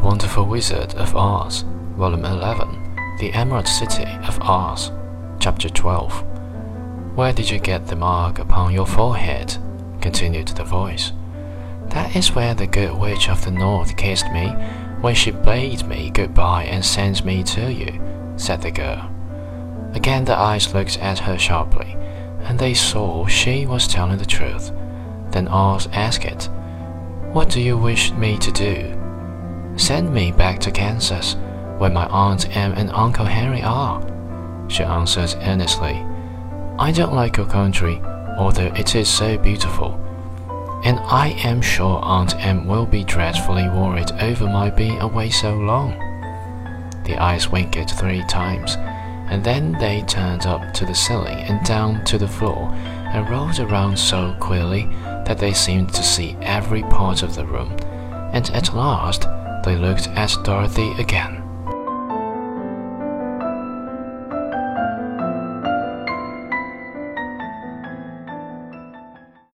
Wonderful Wizard of Oz, Volume 11, The Emerald City of Oz, Chapter 12. Where did you get the mark upon your forehead? Continued the voice. That is where the good witch of the north kissed me when she bade me goodbye and sent me to you, said the girl. Again the eyes looked at her sharply, and they saw she was telling the truth. Then Oz asked, What do you wish me to do? Send me back to Kansas, where my Aunt Em and Uncle Henry are, she answered earnestly. I don't like your country, although it is so beautiful, and I am sure Aunt Em will be dreadfully worried over my being away so long. The eyes winked 3 times, and then they turned up to the ceiling and down to the floor and rolled around so queerly that they seemed to see every part of the room, and at last they looked at Dorothy again.